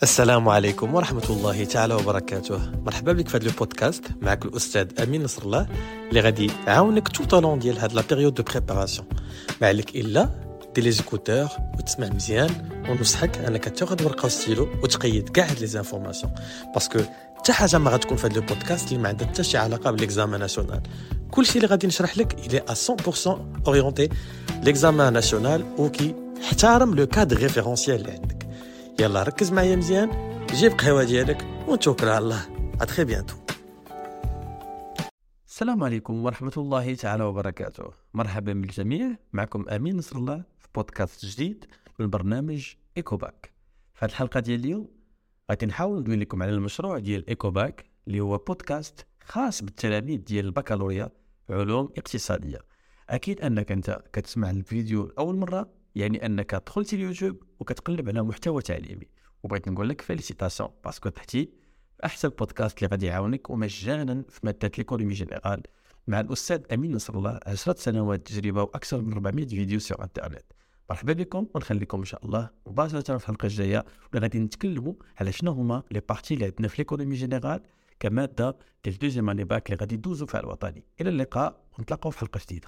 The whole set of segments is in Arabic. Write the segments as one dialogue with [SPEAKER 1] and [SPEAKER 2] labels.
[SPEAKER 1] السلام عليكم ورحمة الله تعالى وبركاته. مرحبا بك في هذا البودكاست. معك الأستاذ أمين نصر الله اللي غادي يعاونك tout au long ديال هاد لا بيريود دو بريباراسيون. ما عليك إلا دير لي زيكوتور وتسمع مزيان، ونصحك أنك تاخذ ورقة وستيلو وتقيد كاع هاد لي زانفورماسيون، باسكو حتى حاجة ما غتكون في هاد البودكاست اللي ما عندها حتى شي علاقة بالإكزامان ناسيونال. كلشي اللي غادي نشرح لك إلي 100% أورينتي لإكزامان ناسيونال وكي احترم لو كادر ريفيرونسيال اللي عندك. يلا ركز معايا مزيان، جيب قهوة ديالك ونتوكل على الله. اتري بيانتو. السلام عليكم ورحمة الله تعالى وبركاته. مرحبا بالجميع، معكم أمين نصر الله في بودكاست جديد من برنامج إيكوباك. في هذه الحلقة ديال اليوم غادي نحاول ندوي لكم على المشروع ديال إيكوباك اللي هو بودكاست خاص بالتلاميذ ديال البكالوريا علوم اقتصادية. أكيد أنك أنت كتسمع الفيديو أول مرة، يعني أنك دخلت اليوتيوب وكتقلب على محتوى تعليمي، وبغيت نقول لك فيليسيتاسيون باسكو تحتي أحسن بودكاست اللي غادي يعاونك ومجانا في مادة ليكونومي جينيرال مع الأستاذ أمين نصر الله، 10 سنوات تجربة وأكثر من 400 فيديو سور انترنت. مرحبا بكم، ونخليكم إن شاء الله مباشرة في الحلقة الجاية واللي غادي نتكلموا على شنو هما لي بارتي اللي عندنا في ليكونومي جينيرال كمادة ديال دوزيام اني باك اللي غادي ندوزو فيها الوطني. إلى اللقاء ونتلاقاو في حلقة جديدة.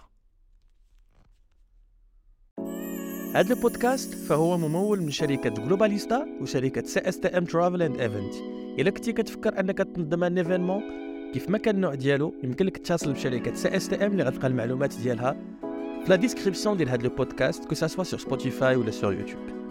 [SPEAKER 1] هذا البودكاست فهو ممول من شركة جلوباليستا وشركة CSTM Travel and Event. إلا كنتي كتفكر أنك تنظم ان ايفينمون كيف ما كان النوع ديالو، يمكن لك تتصل بشركة CSTM اللي غتلقى المعلومات ديالها في لا ديسكريبسيون ديال هذا البودكاست، كو سا سوا سور سبوتيفاي ولا سور يوتيوب.